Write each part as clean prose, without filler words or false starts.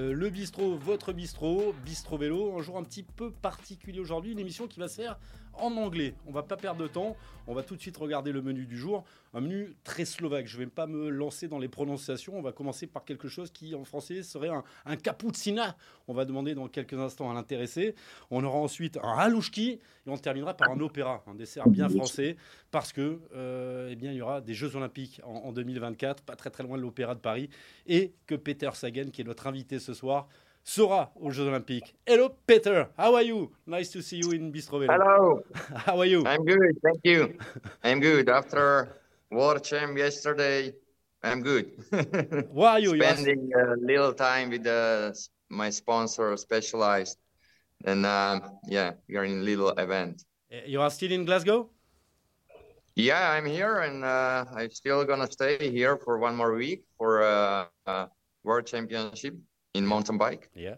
Le bistrot, votre bistrot, Bistro Vélo, un jour un petit peu particulier aujourd'hui, une émission qui va se faire en anglais. On va pas perdre de temps, on va tout de suite regarder le menu du jour, un menu très slovaque. Je vais pas me lancer dans les prononciations, on va commencer par quelque chose qui en français serait un cappuccina. On va demander dans quelques instants à l'intéressé. On aura ensuite un halouchki et on terminera par un opéra, un dessert bien français, parce que eh bien, il y aura des Jeux Olympiques en 2024, pas très très loin de l'Opéra de Paris, et que Peter Sagan, qui est notre invité ce soir, sera aux Jeux Olympiques. Hello Peter, how are you? Nice to see you in Bistro Vélo. Hello, How are you? I'm good, thank you. I'm good. After World Champ yesterday, I'm good. Where are you? Spending a little time with my sponsor, Specialized, and yeah, we are in a little event. You are still in Glasgow? Yeah, I'm here, and I'm still gonna stay here for one more week for World Championship in mountain bike. Yeah.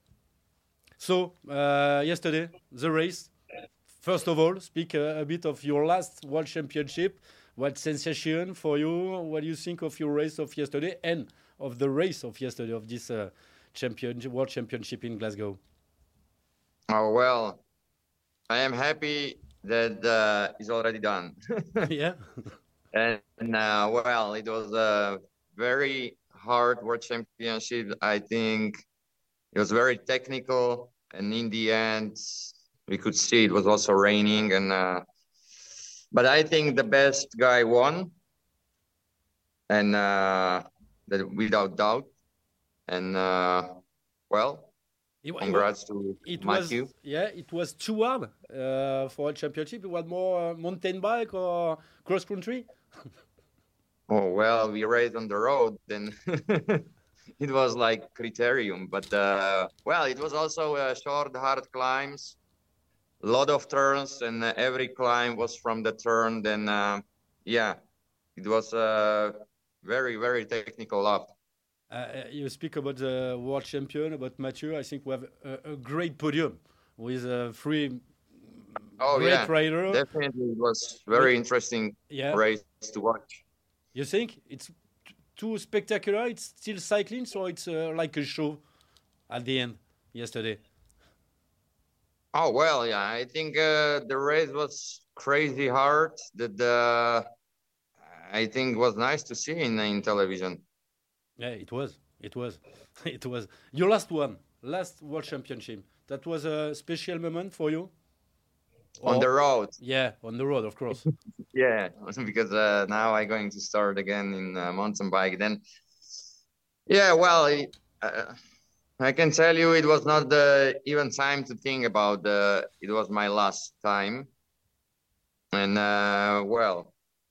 So, yesterday, the race. First of all, speak a bit of your last World Championship. What sensation for you? What do you think of your race of yesterday and of the race of yesterday of this World Championship in Glasgow? Oh well, I am happy that it's already done. Yeah. And well, it was a very hard World Championship. I think it was very technical, and in the end, we could see it was also raining. And but I think the best guy won, and that without doubt. And well, congrats to Matthew. It was too hard for a championship. It was more mountain bike or cross country. Oh well, we raced on the road, then it was like criterium. But well, it was also short, hard climbs, a lot of turns, and every climb was from the turn. Then yeah, it was very, very technical lap. You speak about the world champion, about Mathieu. I think we have a great podium with three great riders. Definitely, it was very interesting race to watch. You think it's too spectacular? It's still cycling, so it's like a show at the end yesterday. Oh well, yeah. I think the race was crazy hard. That I think was nice to see in television. Yeah, it was. It was. It was. Your last World Championship. That was a special moment for you? On the road. Yeah, on the road, of course. Yeah, because now I'm going to start again in mountain bike. Then, yeah, well, I can tell you it was not even time to think about it was my last time. And well,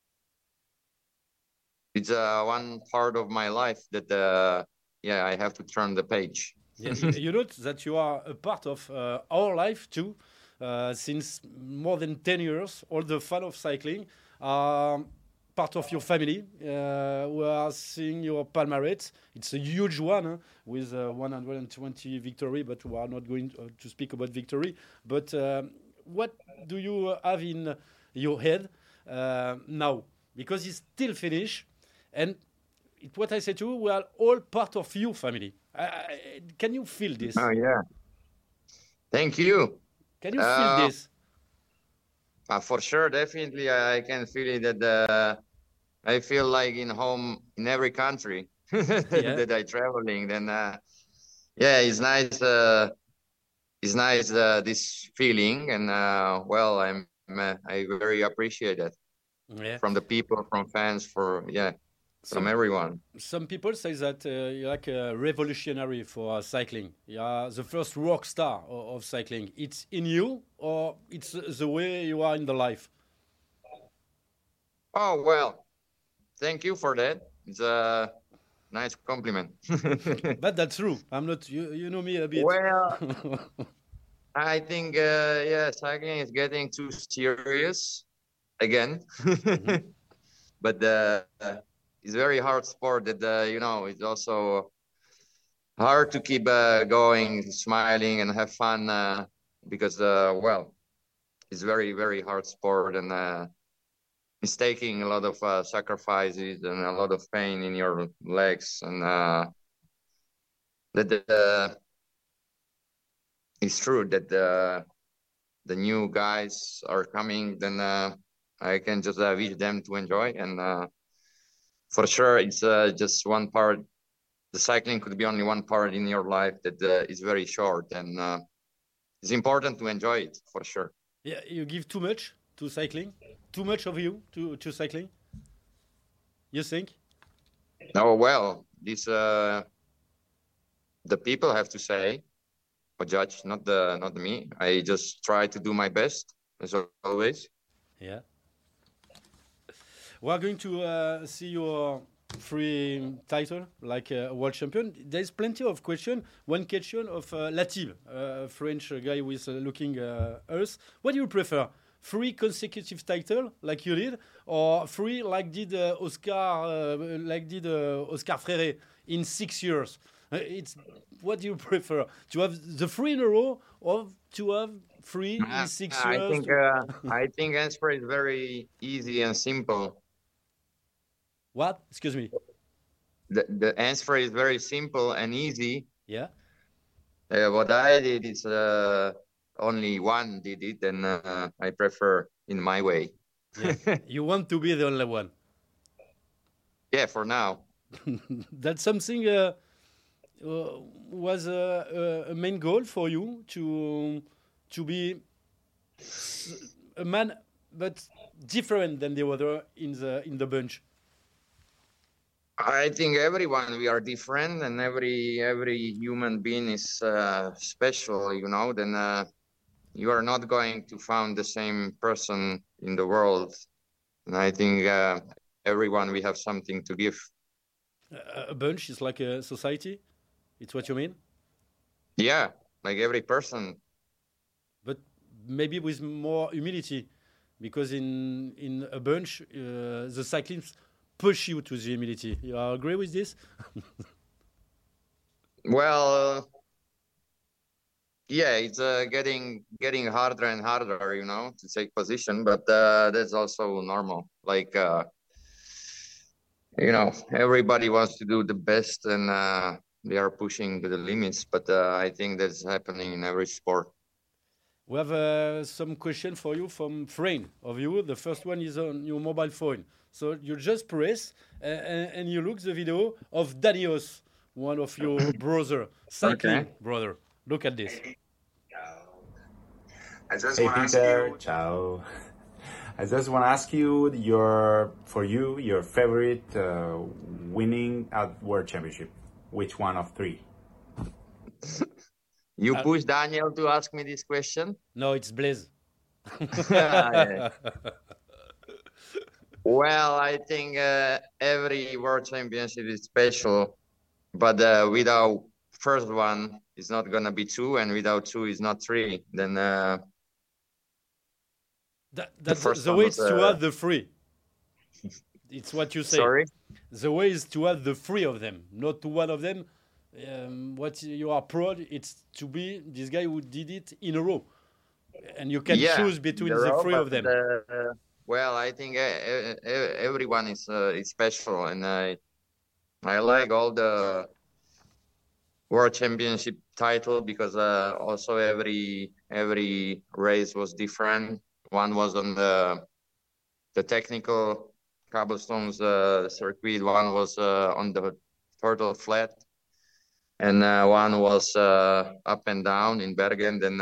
it's one part of my life that yeah, I have to turn the page. Yeah, you know that you are a part of our life too. Since more than 10 years, all the fun of cycling are part of your family. We are seeing your palmarès. It's a huge one with 120 victory, but we are not going to speak about victory. But what do you have in your head now? Because it's still finished, and what I say to you, we are all part of your family. Can you feel this? Oh, yeah. Thank you. Can you feel this? For sure, definitely, I can feel it. That I feel like in home in every country that I traveling. Then, yeah, it's nice. It's nice this feeling, and well, I very appreciate it from the people, from fans, from everyone. Some people say that you're like a revolutionary for cycling. You are the first rock star of cycling. It's in you, or it's the way you are in the life? Oh, well, thank you for that. It's a nice compliment. But that's true. I'm not, you know me a bit. Well, I think, yeah, cycling is getting too serious again. But it's very hard sport that you know, it's also hard to keep going, smiling and have fun because well, it's very, very hard sport, and it's taking a lot of sacrifices and a lot of pain in your legs, and that it's true that the new guys are coming, then I can just wish them to enjoy. And for sure, it's just one part. The cycling could be only one part in your life that is very short, and it's important to enjoy it for sure. Yeah, you give too much to cycling, too much of you to cycling. You think? Oh well, this the people have to say or judge, not me. I just try to do my best as always. Yeah. We are going to see your free title like world champion. There's plenty of question. One question of Latib, a French guy with looking us. What do you prefer? 3 consecutive title like you did, or 3 like did Oscar Freire in 6 years? It's what do you prefer? To have the 3 in a row, or to have 3 in 6 years? I think answer is very easy and simple. What? Excuse me. The answer is very simple and easy. Yeah. What I did is only one did it, and I prefer in my way. Yeah. You want to be the only one. Yeah, for now. That's something was a main goal for you to be a man, but different than the other in the bunch. I think everyone we are different, and every human being is special. You know, then you are not going to find the same person in the world. And I think everyone we have something to give. A bunch is like a society. It's what you mean? Yeah, like every person. But maybe with more humility, because in a bunch, the cyclists push you to the humility. You agree with this? Well, yeah, it's getting harder and harder, you know, to take position, but that's also normal. Like, you know, everybody wants to do the best, and they are pushing to the limits, but I think that's happening in every sport. We have some question for you from Frame of you. The first one is on your mobile phone. So you just press and you look the video of Danios, one of your brother, cycling brother. Look at this. Hey Peter, ciao. I just want to ask you your favorite winning at World Championship. Which one of 3? You push Daniel to ask me this question? No, it's Blaise. Yeah. Well, I think every World Championship is special, but without first one, it's not gonna be 2, and without 2, it's not 3. Then that's the way is to have the 3. It's what you say. Sorry? The way is to have the 3 of them, not to one of them. What you are proud, it's to be this guy who did it in a row, and you can choose between the 3 of them. Well, I think everyone is special, and I like all the World Championship title because also every race was different. One was on the technical cobblestones circuit. One was on the turtle flat, and one was up and down in Bergen. Then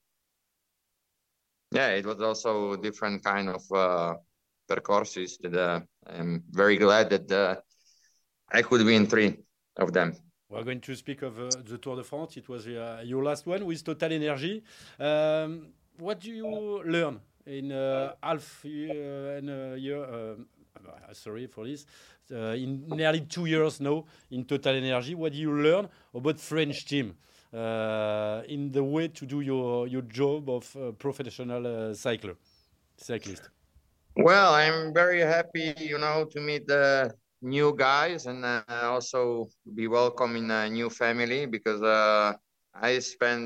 yeah, it was also different kind of percourses that I'm very glad that I could win 3 of them. We're going to speak of the Tour de France. It was your last one with Total Energy. What do you learn in half year and a year? Sorry for this. In nearly 2 years now in Total Energy, what do you learn about French team in the way to do your job of professional cyclist? Well, I'm very happy, you know, to meet the new guys and also be welcome in a new family because I'm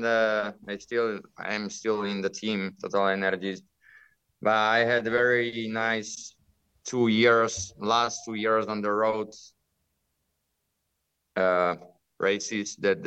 still in the team Total Energies, but I had very nice last 2 years on the road, races that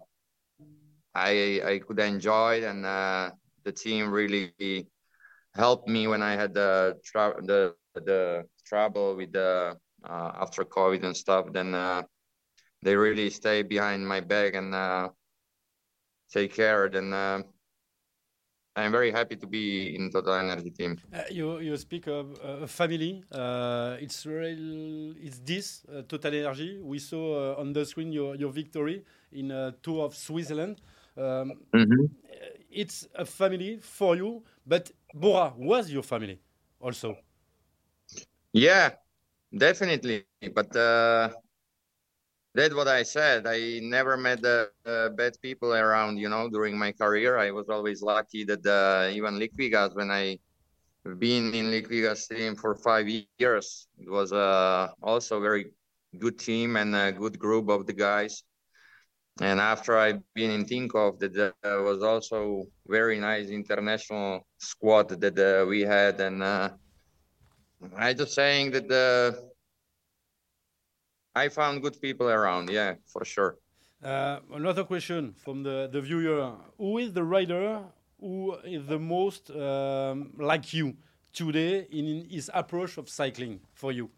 I could enjoy, and the team really helped me when I had the trouble with the after COVID and stuff. Then they really stay behind my back and take care. Then I'm very happy to be in Total Energy team. You speak of family. It's this Total Energy. We saw on the screen your victory in Tour of Switzerland. It's a family for you, but Bora was your family also. Yeah, definitely. But that's what I said. I never met bad people around, during my career. I was always lucky that even Liquigas, when I been in Liquigas team for 5 years, it was also a very good team and a good group of the guys. And after I've been in Tinkoff, that was also very nice international squad that we had. And I just saying that I found good people around, yeah, for sure. Another question from the viewer. Who is the rider who is the most like you today in his approach of cycling for you?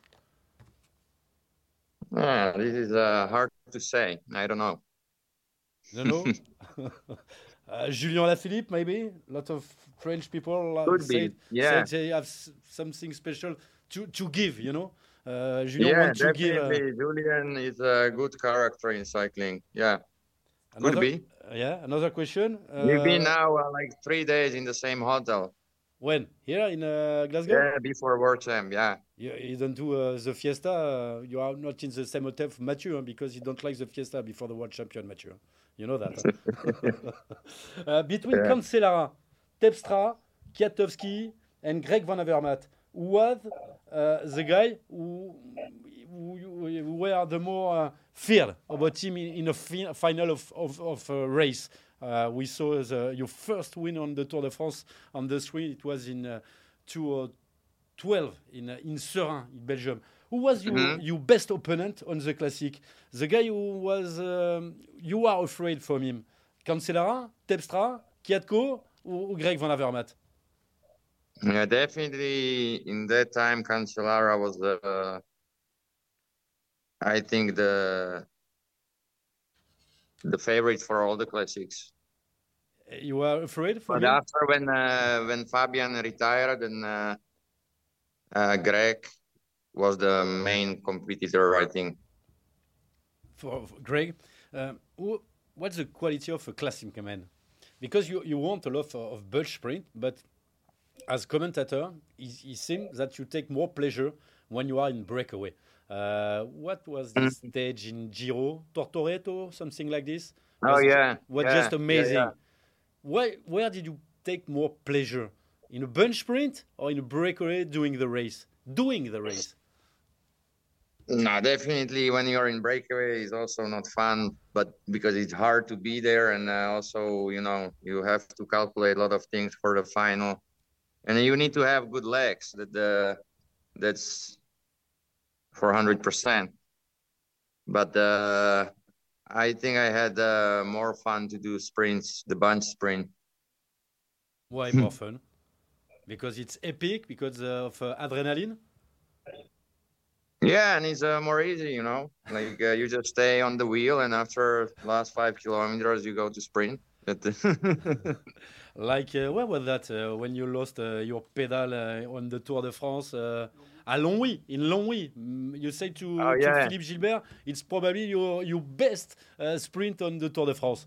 This is hard to say. I don't know. You know? Julien Lafilippe, maybe? A lot of French people say they have something special to give, Julien wants to give. Julien is a good character in cycling. Yeah, could be. Yeah, another question. We've been now like 3 days in the same hotel. When? Here in Glasgow? Yeah, before World Champ, yeah. You don't do the Fiesta. You are not in the same hotel for Mathieu because you don't like the Fiesta before the World Champion, Mathieu. You know that. Between Cancellara, Terpstra, Kwiatkowski, and Greg Van Avermaet, who was the guy who were the more feared about him in a final of a race? We saw your first win on the Tour de France on the street. It was in 2012 in Serein, in Belgium. Who was your best opponent on the Classic? The guy who was you are afraid from him? Cancellara, Terpstra, Kwiatkowski, or Greg Van Avermaet? Yeah, definitely. In that time, Cancellara was I think the favorite for all the classics. You were afraid for him? But after when Fabian retired, and Greg was the main competitor, I think. For Greg, what's the quality of a classic man? Because you want a lot of bulk sprint, but as commentator, it seems that you take more pleasure when you are in breakaway. What was this stage in Giro? Tortoreto, something like this? Was just amazing. Yeah. Where did you take more pleasure? In a bunch sprint or in a breakaway doing the race? No, definitely when you're in breakaway is also not fun, but because it's hard to be there, and also, you have to calculate a lot of things for the final. And you need to have good legs. That's 400%. But I think I had more fun to do sprints, the bunch sprint. Why more fun? Because it's epic, because of adrenaline? Yeah, and it's more easy, Like you just stay on the wheel, and after last 5 kilometers, you go to sprint. Like, where was that when you lost your pedal on the Tour de France? In Longwy. You say to Philippe Gilbert, it's probably your best sprint on the Tour de France.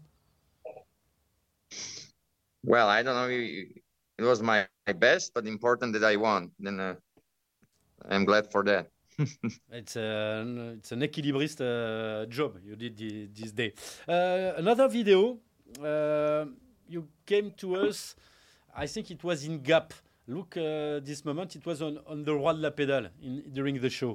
Well, I don't know. It was my best, but important that I won. Then I'm glad for that. It's an equilibrist job you did this day. Another video. You came to us, I think it was in Gap. Look, this moment, it was on the Roi de la Pédale during the show.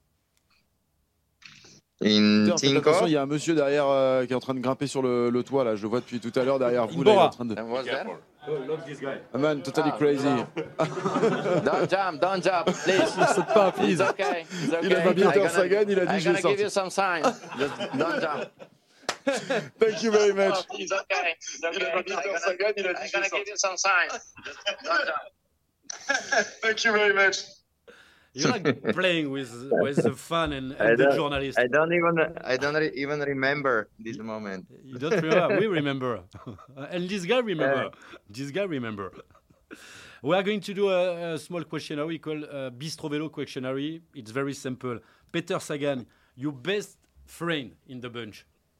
Attention, il y a un monsieur derrière qui est en train de grimper sur le toit, là. Je le vois depuis tout à l'heure derrière vous. Là, il est en train de... Love this guy. A man totally crazy. Don't jump, please. C'est pas un fils. It's okay. Il a pas bien Sagan, il a dit je vais sortir. give you some signs. Just don't jump. Thank you very much. He's okay. He's okay. I'm gonna give you some signs. Thank you very much. You like playing with the fun and the journalists. I don't even remember this moment. You don't remember? We remember. And this guy remember. This guy remember. We are going to do a small questionnaire we call Bistro Velo questionnaire. It's very simple. Peter Sagan, your best friend in the bunch?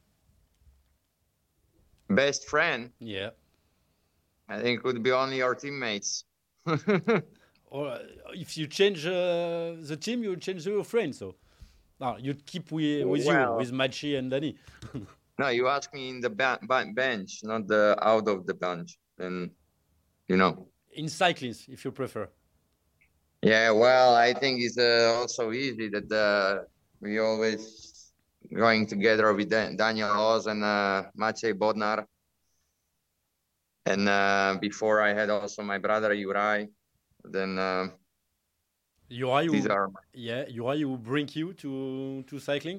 Best friend? Yeah. I think it would be only our teammates. Or if you change the team, you change your friend. So you'd keep with you, with Machi and Danny. No, you ask me in the bench, not out of the bench. And, In cycling, if you prefer. Yeah, well, I think it's also easy that we always going together with Daniel Oz and Maciej Bodnar. And before I had also my brother Juraj. Then Juraj will bring you to cycling?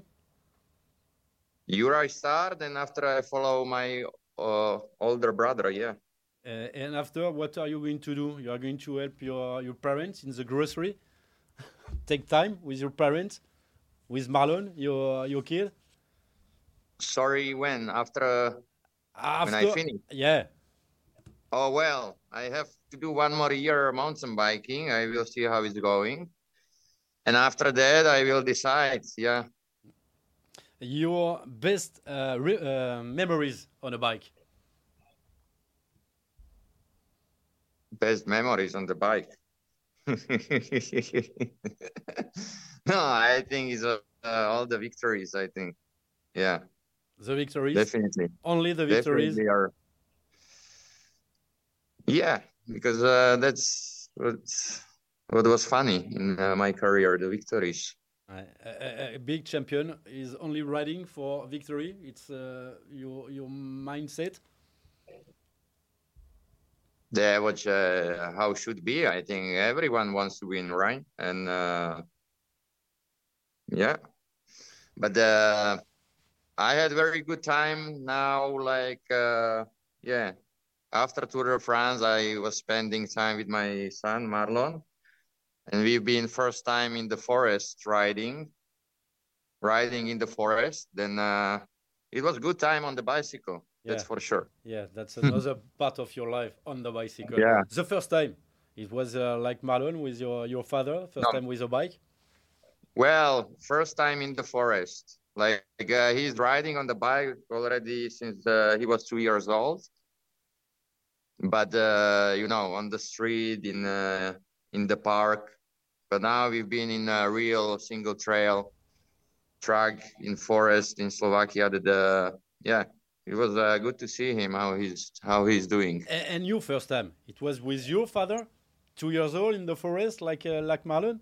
Juraj start, and after I follow my older brother, yeah. And after, what are you going to do? You are going to help your parents in the grocery? Take time with your parents? With Marlon, your kid? Sorry, when? After when I finish? Yeah. Oh, well, I have to do one more year mountain biking. I will see how it's going. And after that, I will decide, yeah. Your best memories on a bike? Best memories on the bike? No, I think it's all the victories, I think. Yeah. The victories? Definitely. Only the victories? Definitely are. Yeah, because that's what was funny in my career, the victories. A big champion is only riding for victory. It's your mindset. Yeah, which how should be. I think everyone wants to win, right? And yeah, but I had very good time now. Like yeah. After Tour de France, I was spending time with my son, Marlon. And we've been first time in the forest riding in the forest. Then it was good time on the bicycle. Yeah. That's for sure. Yeah, that's another part of your life on the bicycle. Yeah. The first time, it was like Marlon with your father, first time with a bike? Well, first time in the forest. Like he's riding on the bike already since he was 2 years old. But on the street, in the park. But now we've been in a real single trail track in forest in Slovakia. It was good to see him how he's doing. And you first time, it was with your father, 2 years old in the forest, like Marlon?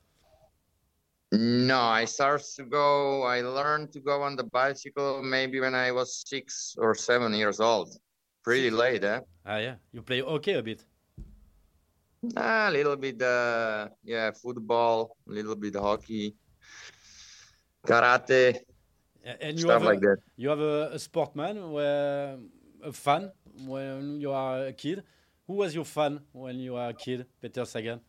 No, I learned to go on the bicycle maybe when I was 6 or 7 years old. Pretty late, eh? Yeah. You play hockey a bit? A little bit, football, a little bit hockey, karate, and stuff like that. You have a sportman, a fan when you are a kid. Who was your fan when you were a kid, Peter Sagan?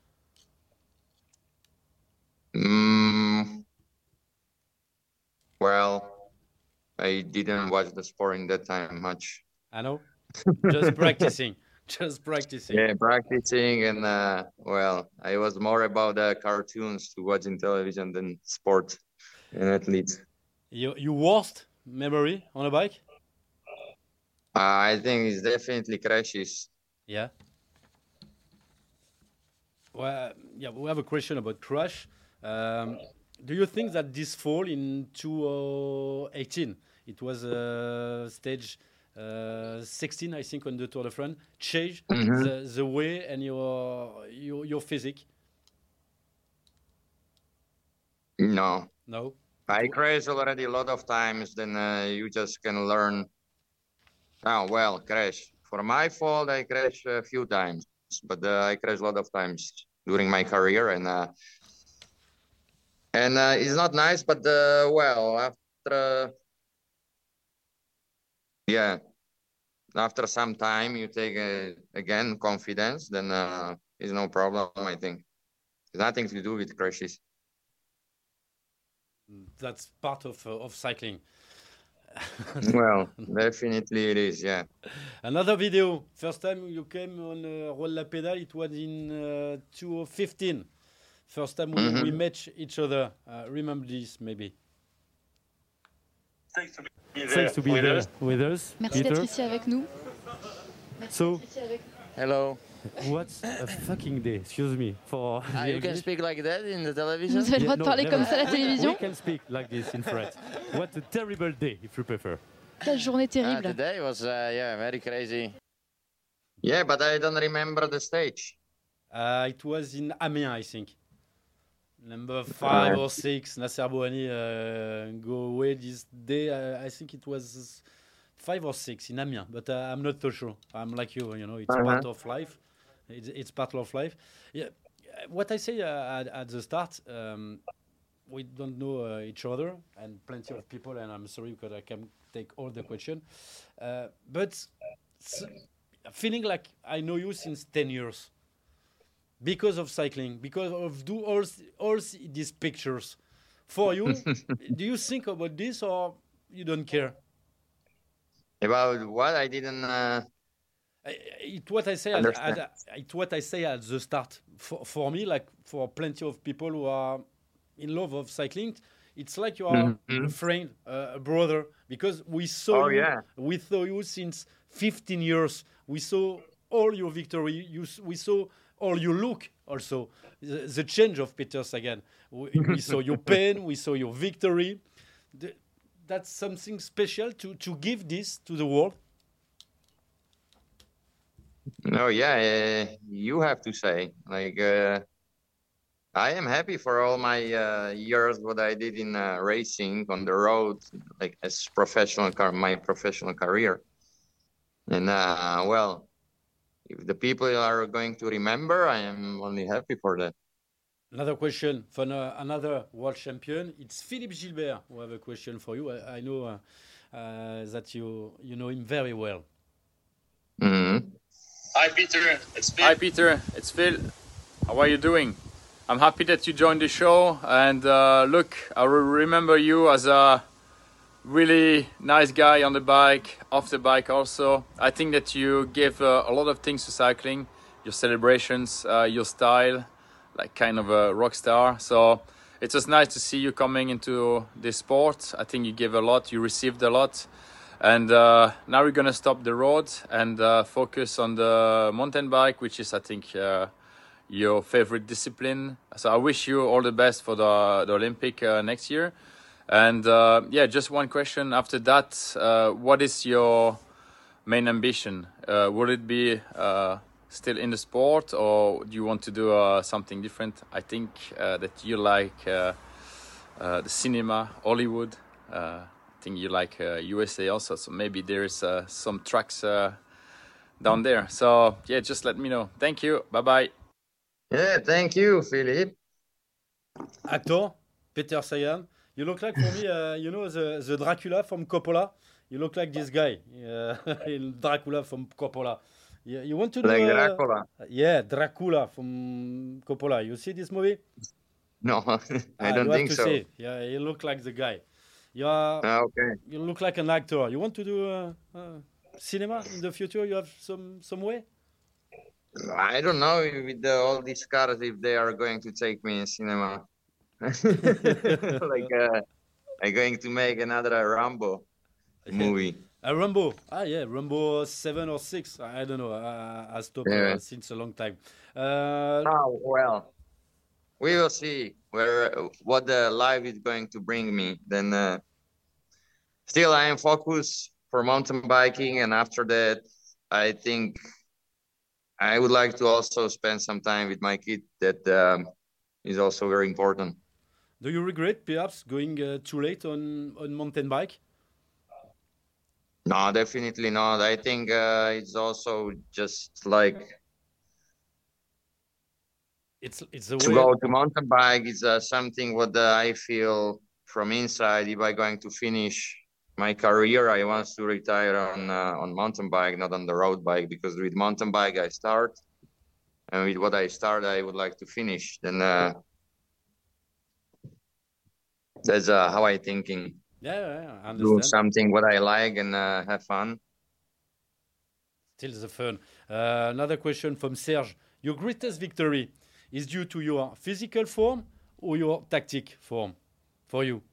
Well, I didn't watch the sport in that time much. I know. Just practicing. Yeah, practicing, and I was more about the cartoons to watching television than sport and athletes. Your worst memory on a bike? I think it's definitely crashes. Yeah. Well, we have a question about crash. Do you think that this fall in 2018, it was stage 16, I think, on the Tour de France, changed the way and your physique? No. No? I crashed already a lot of times, then you just can learn. Crash. For my fault, I crashed a few times, but I crashed a lot of times during my career, and it's not nice, but after yeah, after some time you take again confidence, then it's no problem. I think it's nothing to do with crashes. That's part of cycling. Well, definitely it is, yeah. Another video. First time you came on Roll La Pédale, it was in 2015. First time we met each other. Remember this, maybe. Thanks to be there with us. Merci d'être ici avec nous. So, hello. What a fucking day, excuse me. For you can speak like that in the television? Vous avez le droit de parler comme ça à la télévision? We can speak like this in French. What a terrible day, if you prefer. Quelle journée terrible. Today was very crazy. Yeah, but I don't remember the stage. It was in Amiens, I think. Number 5 or 6, Nasser Bouhanni go away this day. I think it was 5 or 6 in Amiens, but I'm not so sure. I'm like you, it's part of life. It's part of life. Yeah, what I say at the start, we don't know each other, and plenty of people, and I'm sorry because I can't take all the question. But feeling like I know you since 10 years. Because of cycling, because of all these pictures. For you, do you think about this or you don't care? About what? I didn't... It's what I say at the start. For me, like for plenty of people who are in love of cycling, it's like you are a friend, a brother, because we saw you since 15 years. We saw all your victory. We saw all your look also, the change of Peter Sagan. We saw your pain, we saw your victory. That's something special to give this to the world. No, yeah, you have to say. Like, I am happy for all my years what I did in racing on the road, like as my professional career. And well, if the people are going to remember, I am only happy for that. Another question from another world champion. It's Philippe Gilbert who have a question for you. I know that you know him very well. Mm-hmm. Hi, Peter. It's Phil. Hi, Peter. It's Phil. How are you doing? I'm happy that you joined the show. And look, I remember you as a really nice guy on the bike, off the bike also. I think that you gave a lot of things to cycling, your celebrations, your style, like kind of a rock star. So it was nice to see you coming into this sport. I think you gave a lot, you received a lot. And now we're going to stop the road and focus on the mountain bike, which is, I think, your favorite discipline. So I wish you all the best for the Olympic next year. And yeah, just one question after that. What is your main ambition? Would it be still in the sport, or do you want to do something different? I think that you like the cinema, Hollywood. I think you like USA also. So maybe there's some tracks down there. So yeah, just let me know. Thank you. Bye-bye. Yeah, thank you, Philippe. Actor, Peter Sagan. You look like, for me, the Dracula from Coppola. You look like this guy, Dracula from Coppola. You want to do... Like Dracula? Yeah, Dracula from Coppola. You see this movie? No, I don't think so. See. Yeah, you look like the guy. Okay. You look like an actor. You want to do cinema in the future? You have some way? I don't know with all these cars if they are going to take me in cinema. Like I'm going to make another Rambo movie. A Rambo? Yeah, Rambo 7 or 6. I don't know. I stopped since a long time. Well, we will see what the life is going to bring me. Then still I am focused for mountain biking, and after that I think I would like to also spend some time with my kid. That is also very important. Do you regret perhaps going too late on mountain bike? No, definitely not. I think it's also just like it's a to go to mountain bike is something what I feel from inside. If I'm going to finish my career, I want to retire on mountain bike, not on the road bike, because with mountain bike I start, and with what I start, I would like to finish. Then that's how I thinking. Yeah, I understand. Do something what I like and have fun. Still the fun. Another question from Serge. Your greatest victory is due to your physical form or your tactic form for you?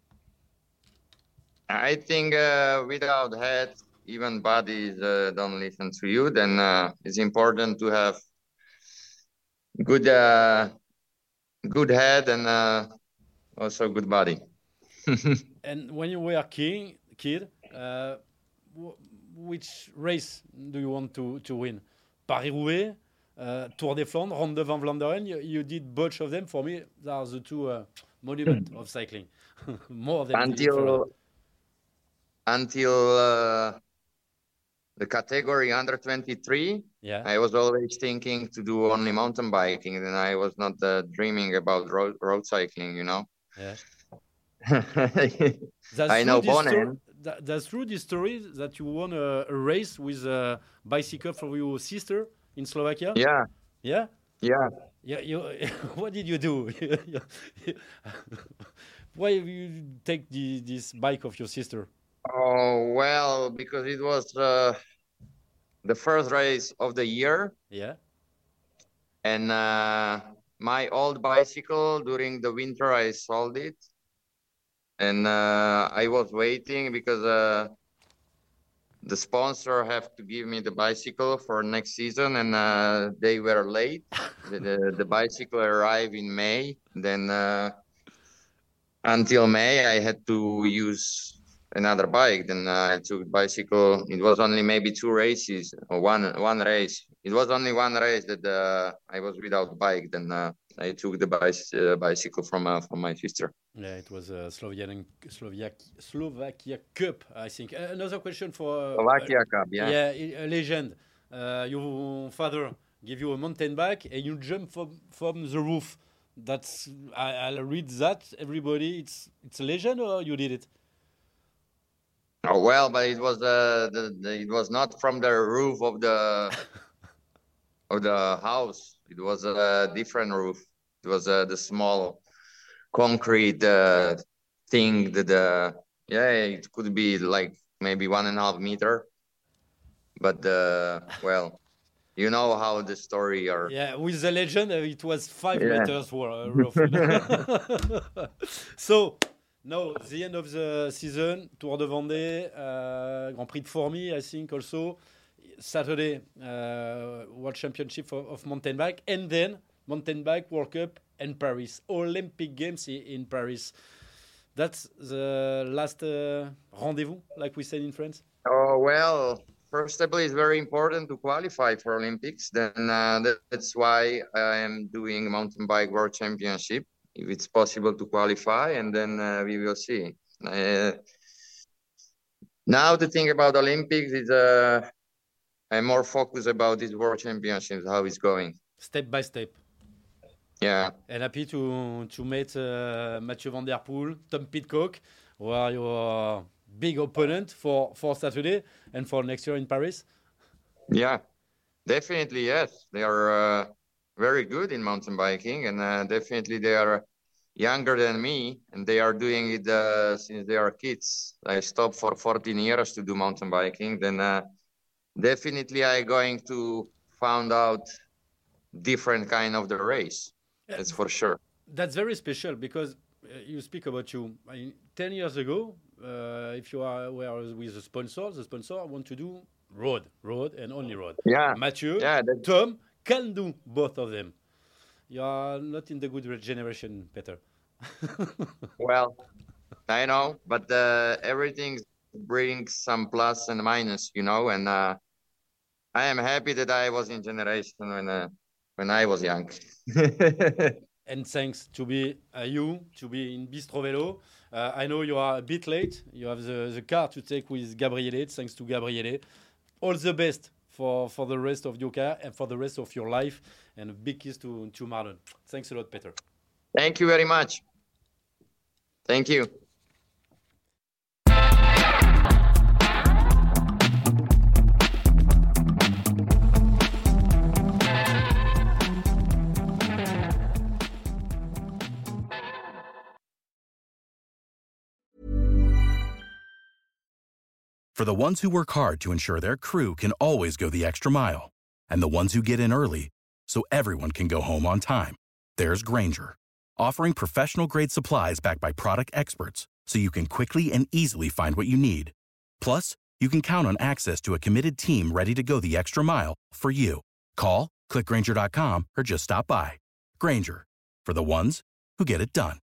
I think without head, even bodies don't listen to you. Then it's important to have good head and also good body. And when you were a kid, which race do you want to win? Paris-Roubaix, Tour des Flandres, Ronde de Vlaanderen. You did both of them. For me, they are the two monuments of cycling. More than until the category under 23. Yeah. I was always thinking to do only mountain biking, and I was not dreaming about road cycling. You know. Yeah. I know Bonen. That's true. This story that you won a race with a bicycle for your sister in Slovakia. Yeah. Yeah. Yeah. Yeah. What did you do? Why you take this bike of your sister? Oh well, because it was the first race of the year. Yeah. And my old bicycle during the winter, I sold it. And I was waiting because the sponsor have to give me the bicycle for next season, and they were late. The bicycle arrived in May. Then until May, I had to use another bike. Then I took bicycle. It was only maybe two races or one race. It was only one race that I was without bike. Then I took the bicycle from my sister. Yeah, it was a Slovakia Cup, I think. Another question for Slovakia Cup, yeah. Yeah, a legend. Your father gave you a mountain bike and you jump from the roof. That's I'll read that. Everybody, it's a legend, or you did it? Oh well, but it was it was not from the roof of the of the house. It was a different roof. It was the small concrete thing that it could be like maybe 1.5 meter, but well, you know how the story are. Yeah, with the legend, it was 5 meters roof. So now the end of the season, Tour de Vendée, Grand Prix de Fourmies, I think also Saturday, World Championship of mountain bike, and then mountain bike World Cup and Paris Olympic Games in Paris. That's the last rendezvous, like we said in France. Oh well, first of all, it's very important to qualify for Olympics. Then that's why I am doing mountain bike World Championship, if it's possible to qualify, and then we will see. Now the thing about Olympics is I'm more focused about this World Championships, how it's going. Step by step. Yeah. And happy to meet Mathieu Van Der Poel, Tom Pidcock, who are your big opponent for Saturday and for next year in Paris. Yeah, definitely, yes. They are very good in mountain biking, and definitely they are younger than me, and they are doing it since they are kids. I stopped for 14 years to do mountain biking. Then definitely I'm going to find out different kind of the race. That's for sure. That's very special because you speak about you. 10 years ago, if you were with the sponsor want to do road and only road. Yeah. Mathieu, Tom can do both of them. You are not in the good generation, Peter. Well, I know, but everything brings some plus and minus, you know, and I am happy that I was in generation when I was young. And thanks to be you, to be in Bistro Vélo. I know you are a bit late. You have the car to take with Gabriele. Thanks to Gabriele. All the best for the rest of your car and for the rest of your life. And a big kiss to Marlon. Thanks a lot, Peter. Thank you very much. Thank you. For the ones who work hard to ensure their crew can always go the extra mile, and the ones who get in early so everyone can go home on time, there's Grainger, offering professional-grade supplies backed by product experts so you can quickly and easily find what you need. Plus, you can count on access to a committed team ready to go the extra mile for you. Call, click Grainger.com, or just stop by. Grainger, for the ones who get it done.